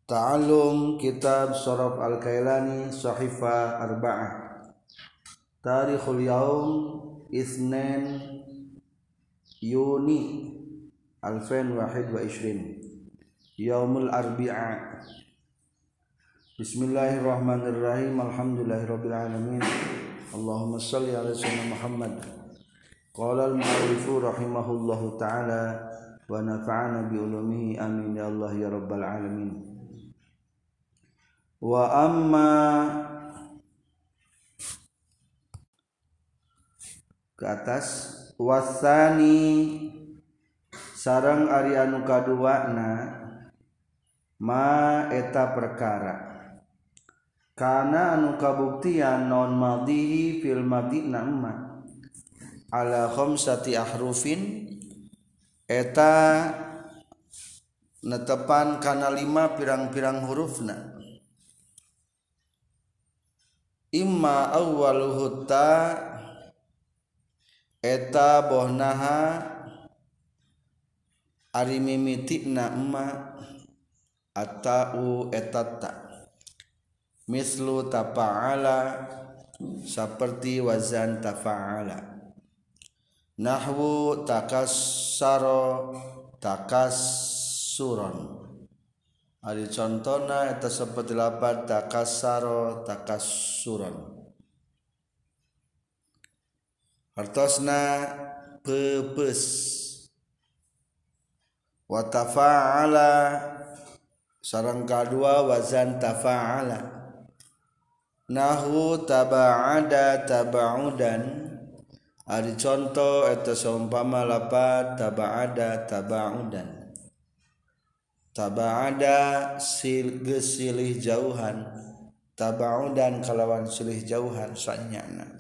Ta'allum Kitab Sharaf Al-Kailani Sahifa Arba'ah. Tarikhul Yaum Isnin Yuni 2021 Yaumul Arbi'a. Bismillahirrahmanirrahim. Alhamdulillahirabbil alamin. Allahumma shalli ala sayyidina Muhammad. Qala al-mu'allifu rahimahullahu ta'ala wa nafa'ana bi ulumihi amin ya Allah ya rabbal alamin. Wa amma ke atas wasani sareng ari anu kaduana ma eta perkara kana anu kabuktian non madhi fil madina ma ala khamsati ahrufin eta netepan kana 5 pirang-pirang hurufna. Imma awwaluhu ta eta bohnaha ari mimitina emma atau etata mislu tafa'ala seperti wazan tafa'ala nahwu takassara takassuran. Ari contona eta seperti lapan takassara takassuran. Hartosna peupes. Wa tafa'ala sareng kadua wazan tafa'ala. Nahwu taba'ada taba'udan. Ari contoh eta saumpama lapan taba'ada taba'udan. Taba'ada silih jauhan, taba'udan kalawan silih jauhan sanyana.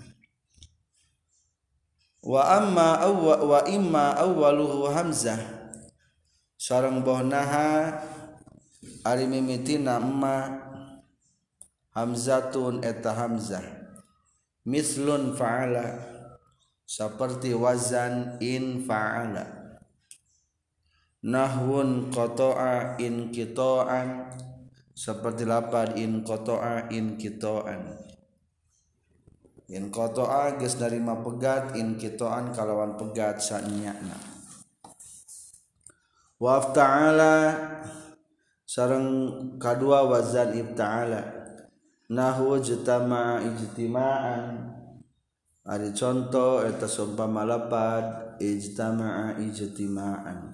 Wa imma awwaluhu hamzah sareng bohnaha ari mimitina emma hamzatun eta hamzah mislun fa'ala seperti wazan in fa'ala. Nahwun qata'a in qita'an seperti lapad in qata'a in qita'an. In qata'a geus narima pegat, in qita'an kalawan pegat sanyana. Wa ifta'ala sareng kadua wazan ifta'ala. Nahwu jtama'a ijtima'an. Ari contoh eta seumpama lapad ijtama'a ijtima'an.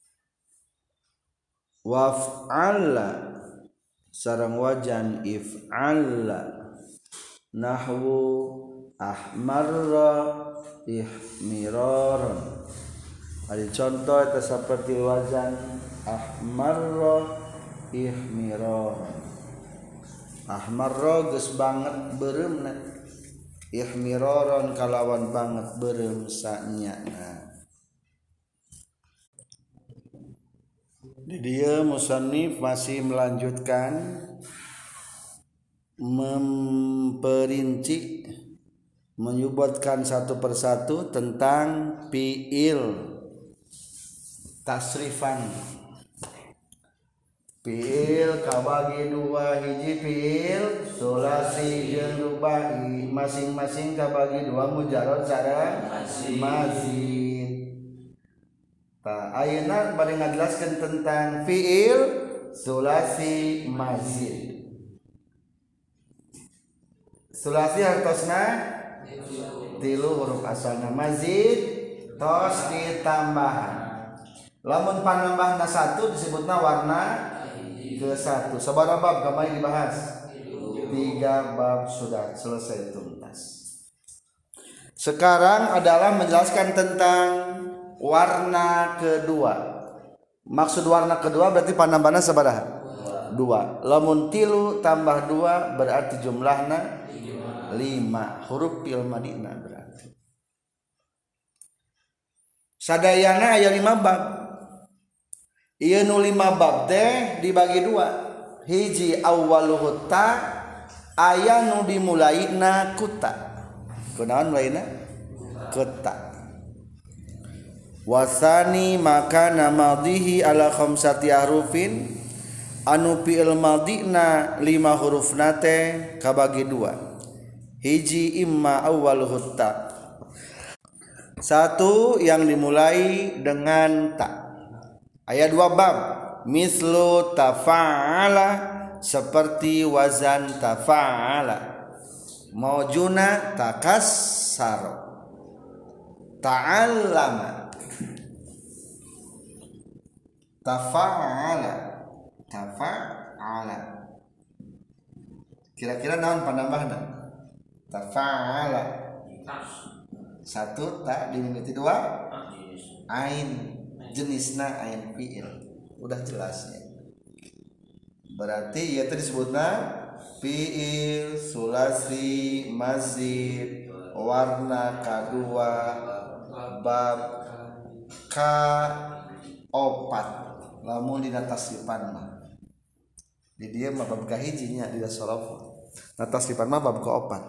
Waf'alla sareng wajan if'alla nahwu ahmarra ihmiraran. Ari contoh eta seperti wazan ahmarra ihmiraran. Ahmarra geus banget beureumna, ihmiraran kalawan banget beureum sanyana. Di dia musannif masih melanjutkan memperinci menyebutkan satu persatu tentang fiil tasrifan. Fiil kabagi dua, hiji fiil sulasi jeung rubai masing-masing kabagi dua mujarrad sareng mazid. Ayeuna bade ngajelaskeun tentang fiil sulasi mazid. Sulasi hartosna 3 huruf asalna, mazid tos ditambahan. Lamun panambahna 1 disebutna warna ke 1. Sabaraha bab kamari dibahas? 3 bab sudah selesai tuntas. Sekarang adalah menjelaskan tentang warna kedua. Maksud warna kedua berarti panambahna sabaraha? 2. Lamun 3 tambah 2 berarti jumlahna 5. Huruf fil madina berarti. Sadayana aya 5 bab. Ieu nu 5 bab teh dibagi 2. Hiji awwaluhu ta aya nu dimulaina ku ta. Kunaon mulaina? Ku ta. Wasani maka namadhihi ala khamsati harufin anu fi'il madina 5 huruf nate kabagi 2 hiji imma awwaluhu ta satu yang dimulai dengan ta ayat 2 bab mislu tafa'ala seperti wazan tafa'ala maujuna takassaro ta'allama tafa'ala kira-kira naon panambahna tafa'ala satu ta dimimiti 2 ain jenisna ain fi'il udah jelasnya berarti ieu teh disebutna fi'il sulasi mazid warna kadua bab ka opat lamun dina tasrifan mah di dieu mah bab kahijinya di sorof na tasrifan mah bab kaopat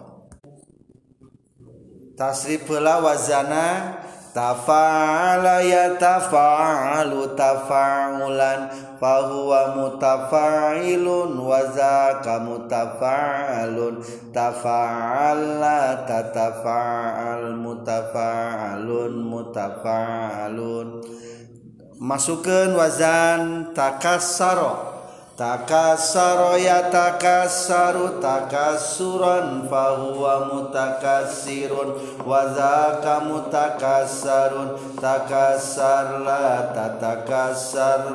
tasrif heula wazana tafa'ala ya tafa'alu tafa'ulan fahuwa mutafa'ilun wa zaka mutafa'alun tafa'ala tatafa'al mutafa'alun mutafa'alun masukkeun wazan takassaro takassaro ya takassaru takassuran fahuwa mutakassirun wa zaka mutakassarun takassarla tatakassar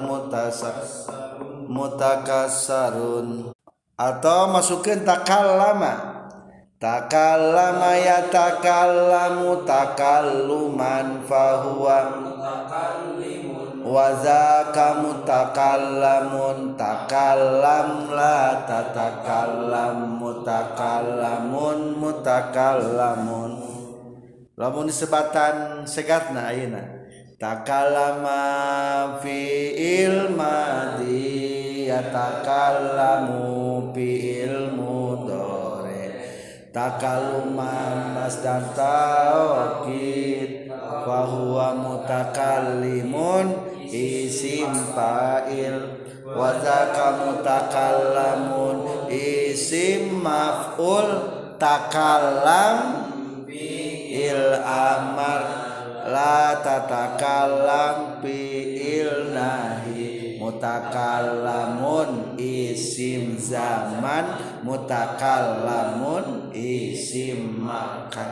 mutakassarun atau masukkeun takallama takallama ya takallamu takalluman fahuwa wazaka mutakallamun takallam la tatakallam mutakallamun mutakallamun lamun disebatan segatna ayeuna takallama fi'il madhi yatakallamu fi'il mudhari takalluman masdar taukid wa huwa mutakallimun isim fa'il wa zaka mutakallamun isim maf'ul takallam fi'il amar la tatakallam fi'il nahi mutakallamun isim zaman mutakallamun isim makan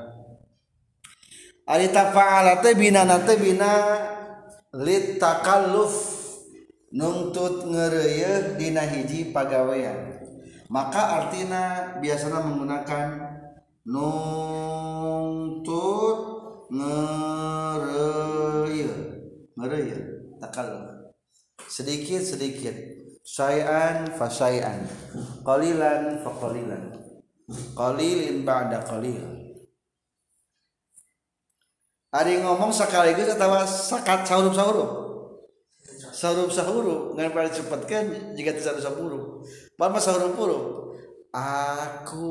ari tafa'ala teh binana teh bina lit takalluf nuntut ngeureuyeun dina hiji pagawean maka artina biasana menggunakan nuntut ngeureuyeun takalluf sedikit syai'an fa syai'an qalilan fa qalilan qalilin ba'da qalil ari ngomong sekaligus atawa sakat sahurup ngan pada cepetkeun jiga teu sahurup pama sahurup aku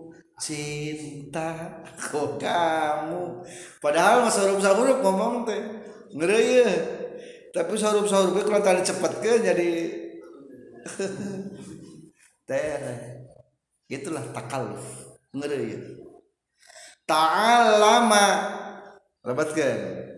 cinta ku kamu padahal mah sahurup ngomong teh ngeureuyeun tapi sahurup ge kalau tadi cepetkeun jadi tere itulah takalluf ngeureuyeun ta'allama rabatkeun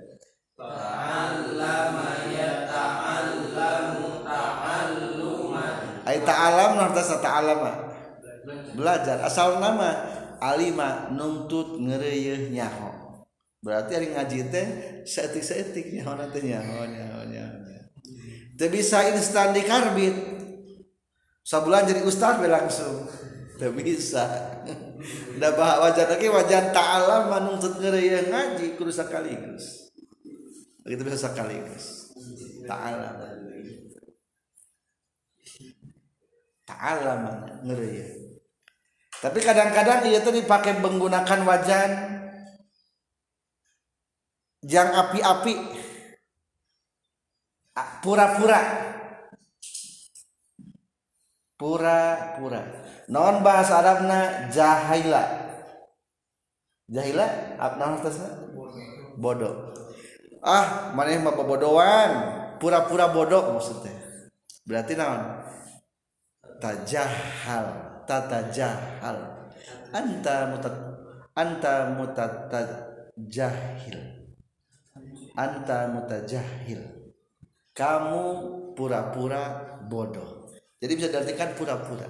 ta'allama ya ta'allamu ta'alluman ai ta'allam narta ta'allama belajar asal nama alima nuntut ngeureuyeun nyaho berarti ari ngaji teh saeutik-saeutik nyaho teh nyaho teu bisa instan di karbit sabulan jadi ustaz we langsung teu bisa da wajan lagi wajan ta'alam nuntut ngeureuyeun ngaji kudu sakaligus begitu bisa sakaligus ta'alam ngeureuyeun tapi kadang-kadang ieu teh dipake menggunakan wajan jang api-api pura-pura non bahasa Arabna jahila apa artinya bodoh maneh mah bobodohan pura-pura bodoh maksudnya berarti naon mutajahal tatajahal anta mutajahil kamu pura-pura bodoh. Jadi bisa diartikan pura-pura.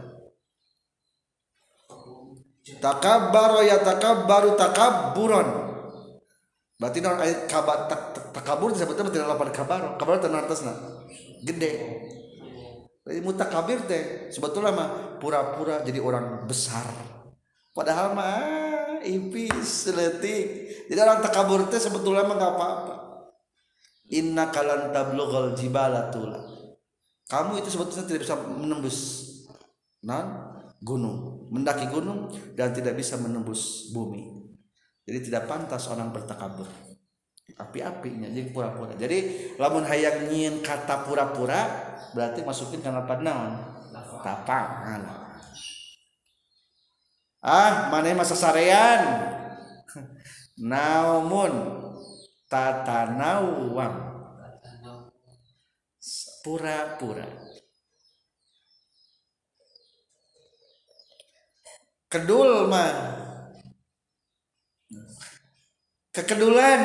Takabbaro ya takabbaru takabburon. Berarti non ayat kabar takabur disebutnya tidak lapan kabaro. Kabaro teh artosna gede. Jadi mutakabir teh sebetulnya mah pura-pura jadi orang besar. Padahal mah ipis leutik. Jadi orang takabur teh sebetulnya mah enggak apa-apa. Inna kalan tablughal jibala tula. Kamu itu sebetulnya tidak bisa menembus gunung, mendaki gunung dan tidak bisa menembus bumi. Jadi tidak pantas orang bertakabur. Api-apinya jadi pura-pura. Jadi lamun hayang nyieun kata pura-pura berarti masukin kana naon? Tapang. Maneh masa sarean. Naumun tatanawam. Pura-pura. Kedul mah kekedulan.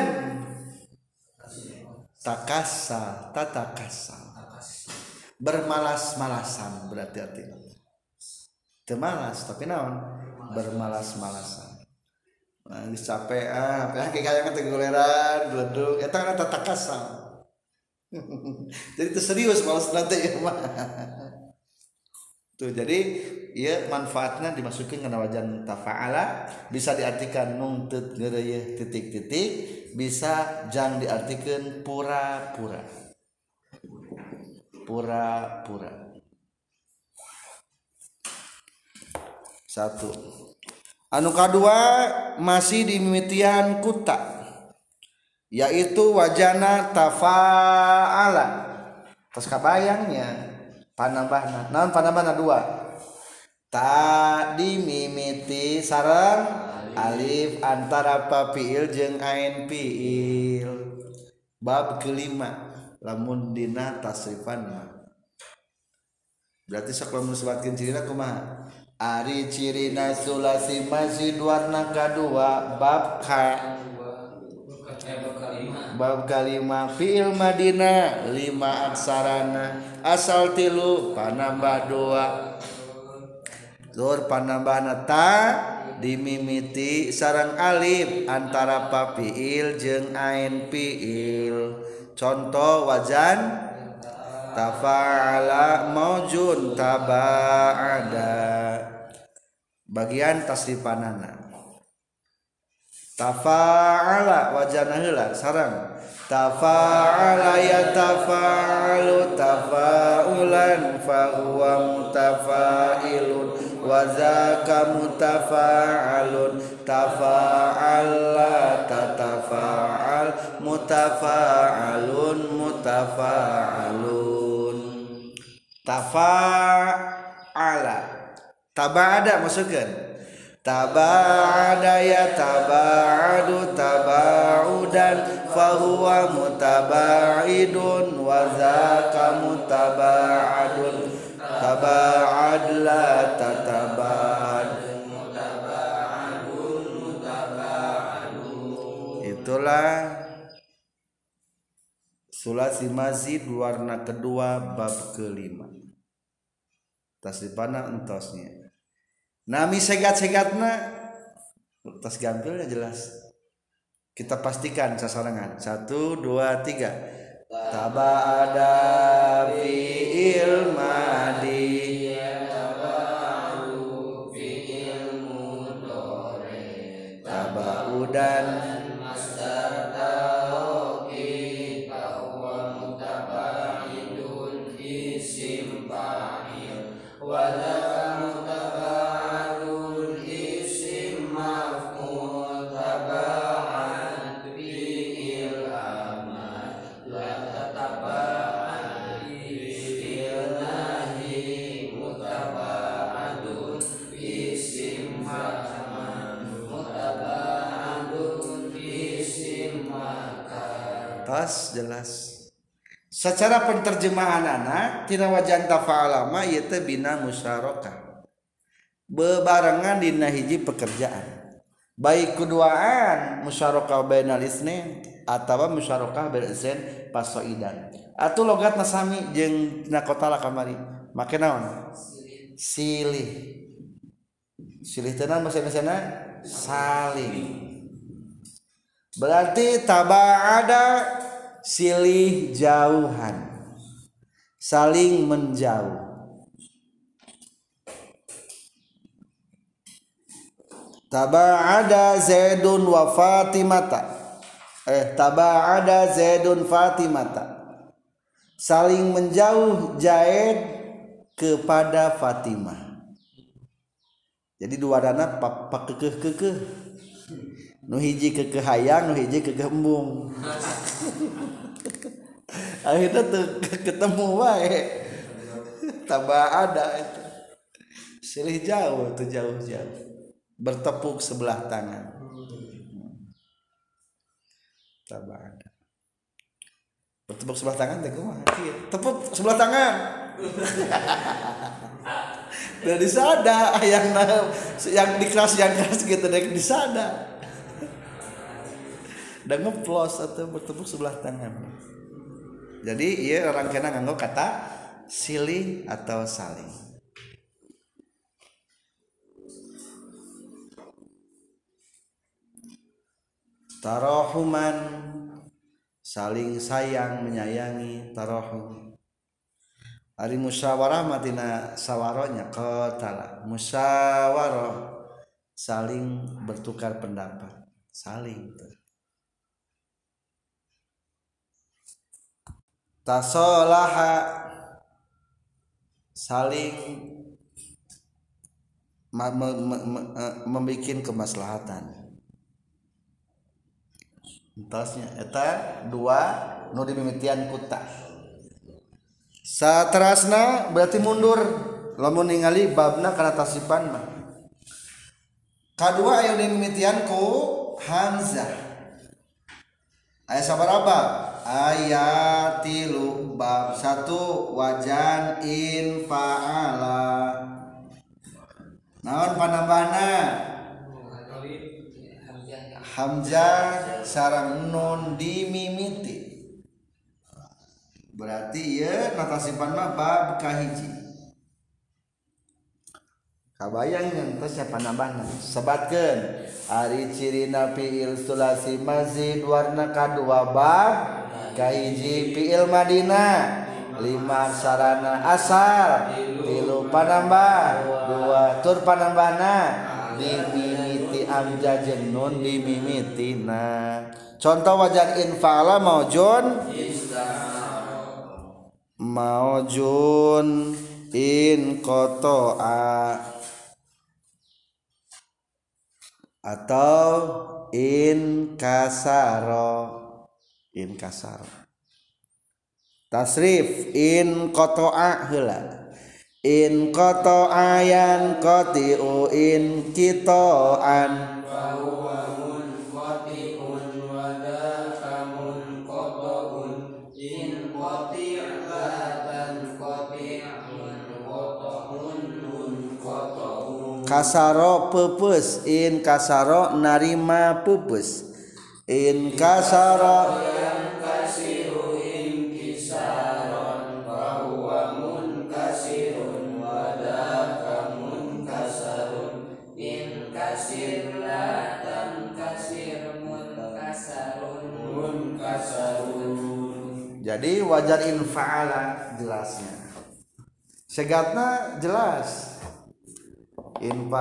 Tatakasal bermalas-malasan berarti artinya teu malas tapi naon bermalas-malasan geus capek kayak teh goleran gledug eta kana tatakasal. Jadi itu serius malas nanti ya mah. Tuh jadi ieu manfaatna dimasukin kana wajan tafa'ala bisa diartikan nungtut geureuy titik-titik bisa jang diartikeun pura-pura. Pura-pura. Satu. Anu kadua masih dimimitian kuta yaitu wajana tafa'ala. Tos kabayangnya panambahna. Naon panambahna dua? Ta dimimiti sareng alif antara pa fiil jeung ain fiil. Bab kelima lamun dina tasrifan berarti sok lamun sebatkeun cirina kumaha? Ari cirina sulasi mazid warna kadua bab kalima fiil madina 5 aksarana asal 3 panambah 2 zur panambahna ta dimimiti sareng alif antara pa fiil jeung ain fiil. Contoh wajan tafa'ala maujun taba'ada bagian tasrifanana. Tafa'ala wajana heula sareng tafa'ala ya tafa'alu tafa'ulan fa huwa mutafa'ilun wa zaka mutafa'alun tafa'ala tatafa'al mutafa'alun mutafa'alun. Tafa'ala taba'ada masukkeun taba'ada ya taba'adu taba'udan fahuwa mutaba'idun wa zaka mutaba'adun taba'ad la tataba'ad mutaba'adun mutaba'adun. Itulah sulasi mazid warna kedua bab kelima. Tasrifana entosnya nami segat-segatna tas gampilnya jelas. Kita pastikan sasarangan 1 2 3 taba'ada fi'il madi taba'u fi'il mudhari taba'udan masdar tauqid bahwa mutaba'idun isim fa'il wa jelas secara penterjemahan anak tina wajan tafa'ala ma ieu teh bina musyarakah bebarengan dina hiji pekerjaan baik keduaan musyarakah bainal isnain atawa musyarakah bainal isnain pasoidan atuh logatna sami jeung dina qatala kamari make naon silih teh naon bahasa Indonesiana saling berarti taba'ada silih jauhan saling menjauh taba'ada Zaidun wa Fatimata taba'ada Zaidun Fatimata saling menjauh Zaid kepada Fatimah jadi dua dana pak kekeh nu hiji kekeh hayang nu hiji kekeh embung akhirnya tuh ketemu wae taba'ada itu silih jauh tuh jauh bertepuk sebelah tangan taba'ada bertepuk sebelah tangan teh kumaha tepuk sebelah tangan dan disada yang dikeras gitu dek disada dan ngeplos atau bertepuk sebelah tangan jadi iya orang kena nganggo kata silih atau saling tarahuman saling sayang menyayangi tarahum ari musyawarah matina sawaronya qatala musyawarah saling bertukar pendapat saling tasolaha saling membikin kemaslahatan entasnya eta dua nu dimimitian kuta saterasna berarti mundur lamun ningali babna kana tasipan mah kadua aya dimimitian ku hamzah aya sabaraha ayat 3 bab 1 wajan in fa'ala naon panambahna hamzah sareng nun dimimiti berarti ya natasipan mah bab kahiji kabayang ngantos panambahna sebatkeun ari cirina fiil sulasi mazid warna kadua bab kahiji fiil madina 5 sarana asal 3 panambah 2 tur panambahna dimimiti amja jeung nun dimimitina contoh wajan infa'ala maujun in qata'a atau in kasaro tasrif in qata'a heula in qata'a yan qati'u in qita'an wa huwa munqati'un wa dakamun qata'un in qati'atan qati'un qata'un munqata'un kasaro peupeus in kasaro narima peupeus in kasaro jadi wajar infa'ala jelasnya segatna jelas in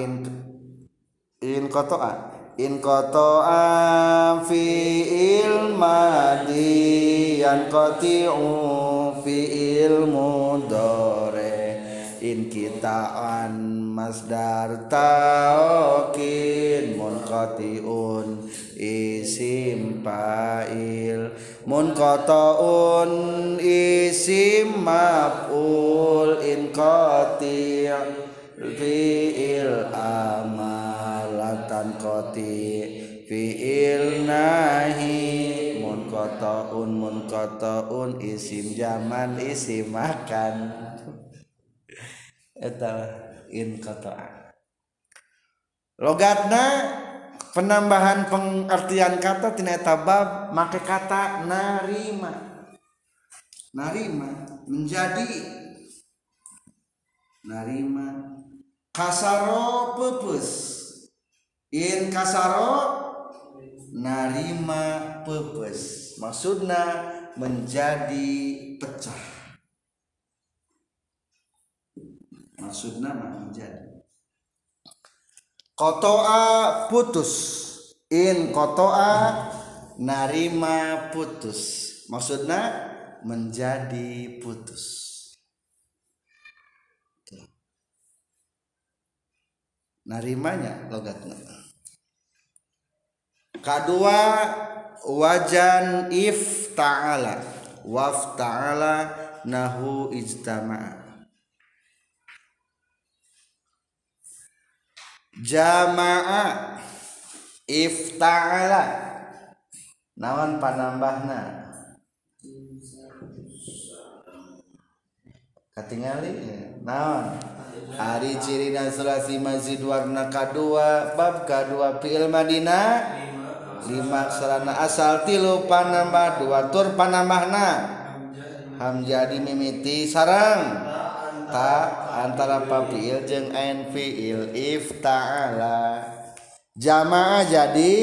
qata'a fi'il madi yan qati'u fi'il mudhari in kita'an masdar ta'kin munqati'un isim fa'il munqata'un isim maf'ul inqati' fi'il amalatan qati' fi'il nahi munqati' munqataun isim zaman isim makan eta inqata'a. Logatna penambahan pengertian kata tina eta bab make kata narima. Narima menjadi narima. Kasaro pepes in kasaro narima pepes maksudna menjadi pecah, maksudna menjadi. Kotoa putus in kotoa narima putus maksudna menjadi putus. Narimanya logatna. Kedua wajan ifta'ala wafta'ala nahu ijtama'a. Jama'a ifta'ala naon panambahna katingali naon ari cirina sulasi mazid warna kadua bab kadua fi'il madina 5 sarana asal 3 panambah 2 tur panambahna hamjadi mimiti sarang ta antara pa fi'il jeung ain fi'il ifta'ala. Jamaah jadi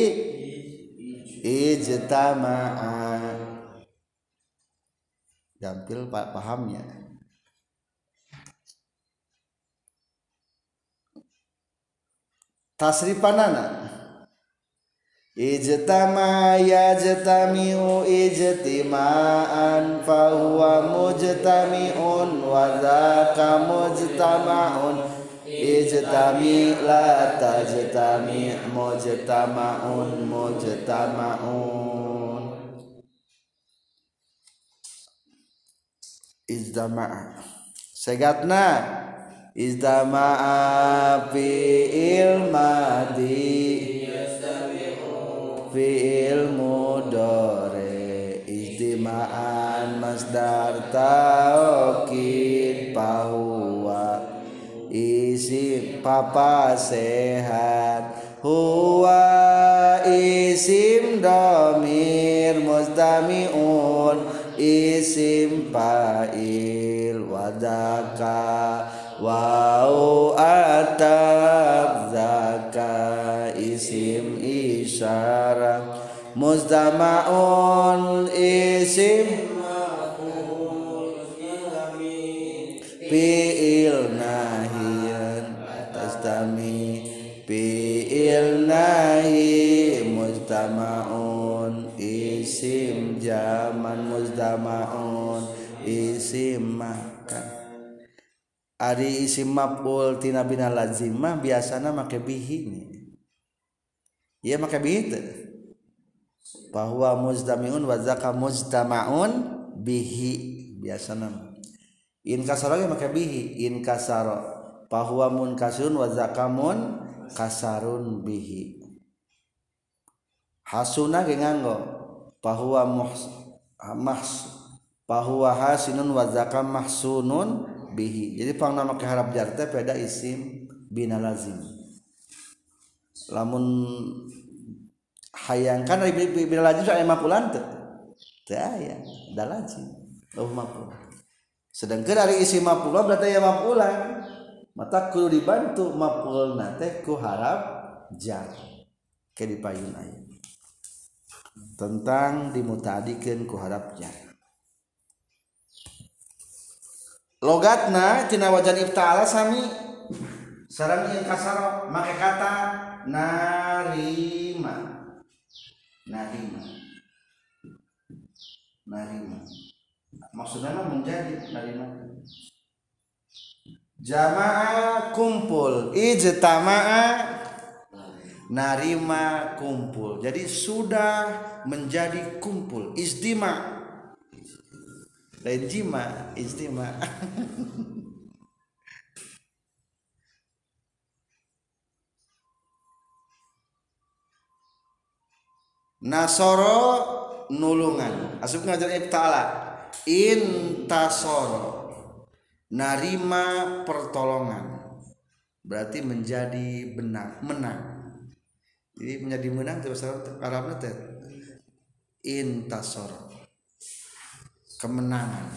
ijtama'a. Gampil Pak pahamnya. Tasrifanana ijtama yajtami'u ijtima'an fahuwa mujtami'un wa dzaka mujtama'un ijtami la tajtami mujtama'un mujtama'un. Ijtama'a segatna ijtama'a fi'il madi fi'il mudhari ijtima'an masdar taukid bahwa isim papa sehat huwa isim dhamir mustami'un isim fa'il wadaka wau atab zaka isim isyarah muzdama'un isim fi'il nahiyan tastami fi'il nahi muzdama'un isim zaman muzdama'un isim makan. Ari isim maf'ul tina bina lazimah biasana make bihi. Ieu make bihi teu. Bahwa muzdami'un wa zaka mujtama'un bihi biasana. In kasara ge make bihi in kasara bahwa munkasirun wa zaka mun kasarun bihi. Hasuna ge nganggo bahwa bahwa hasinun wa zaka mahsunun bihi. Jadi pangna make harap jar teh beda isim bina lazim. Lamun hayangkan dari bina lazim aya mafulan teu? Teu aya, da lazim. Maful. Sedangkan dari isim mafulan berarti aya mafulan. Mata kudu dibantu mafulna teh ku harap jar. Ke dipayun aya. Tentang dimutadikeun ku harap jar. Logatna tina wajan ifta'ala sami sareng ieu kasara make kata narima. Narima. Narima. Maksudna menjadi narima. Jama'a kumpul, ijtama'a narima kumpul. Jadi sudah menjadi kumpul, istima. Lain jima, istima. Nasoro nulungan. Asup ngajar ibtala intasoro narima pertolongan berarti menjadi menang. Jadi menjadi menang itu bahasa Arabnya teh intasoro kemenangan.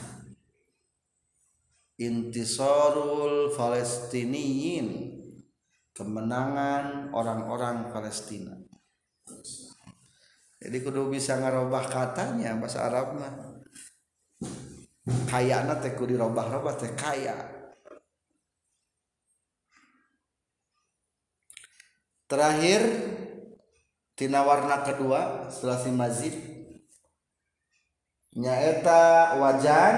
Intisarul Palestiniyin kemenangan orang-orang Palestina. Jadi kudu bisa ngarobah katanya bahasa Arab mah. Kayana teh kudu dirobah-robah teh kaya. Terakhir tina warna kedua setelah si mazid nyaeta wajan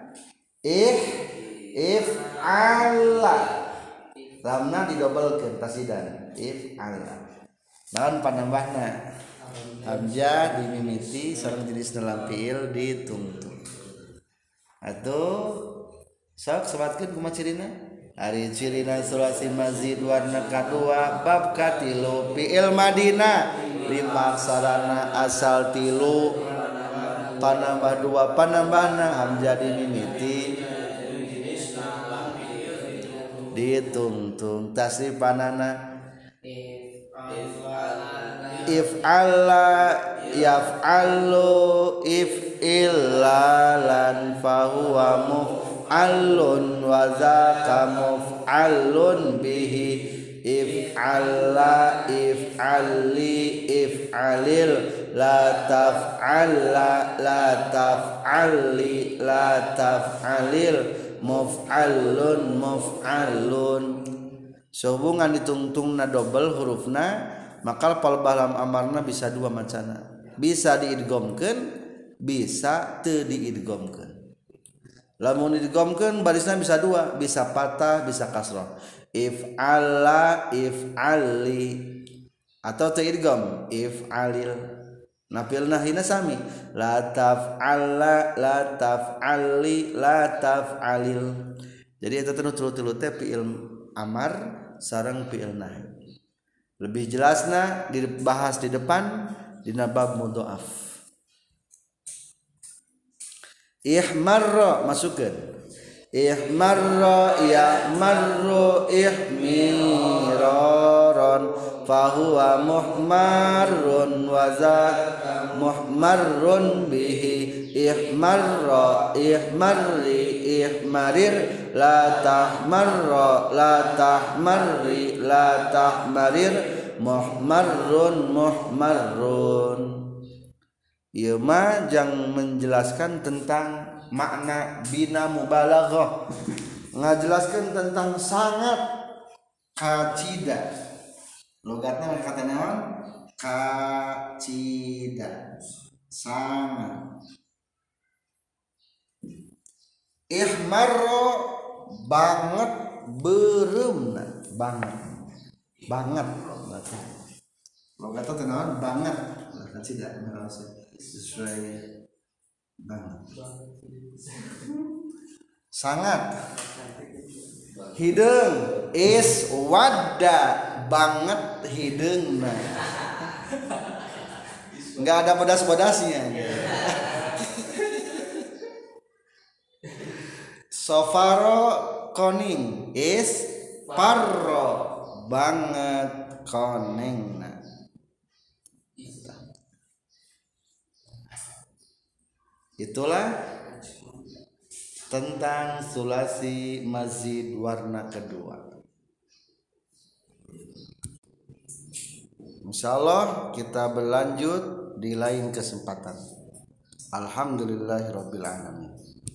if'ala lamna didobelkeun tasidan if'ala naon panambahna hamzah dimimiti sareng jenisna lam fiil ditungtung atuh sok sebatkeun kumaha cirina ari cirina sulasi mazid warna kadua bab katilu fiil madina limaksarana asal tilu panambah dua panambahna hamzah dimimiti ditungtung tasrifanana if'ala yaf'alu if'illalan fahuwa muf'alun wa zaka muf'alun bihi if'alla if'alli if'alil la taf'alla la taf'alli la taf'alil muf'alun muf'alun sehubungan ditungtungna double hurufna maka pal balam amarna bisa dua macana bisa diidghamkeun bisa teu diidghamkeun lamun diidghamkeun barisna bisa dua bisa patah bisa kasrah if'ala if'ali atau teu idgham if'alil napilna hina sami la taf'alla la taf'ali la taf'alil jadi eta tilu teh fiil amar sareng fiil nahi lebih jelasna dibahas di depan dina bab mudhaaf ihmarra masukkeun ihmarra ya'marru ihmiraran fahuwa muhmarrun wa za muhmarrun bihi ihmarra ihmarri ihmarir la tahmarra la tahmarri la tahmarir muhmarrun muhmarrun. Ieu mah jang menjelaskan tentang makna bina mubalaghah ngajelaskeun tentang sangat kacida logatna kata naon kacida sangat ihmarro banget bereumna banget logatna teh naon banget kacida sesuai banget sangat hideung is wadda banget hideungna enggak ada pedas-pedasnya sofaro koning is parro banget konengna itulah tentang sulasi mazid warna kedua. Insyaallah kita berlanjut di lain kesempatan. Alhamdulillahirabbil alamin.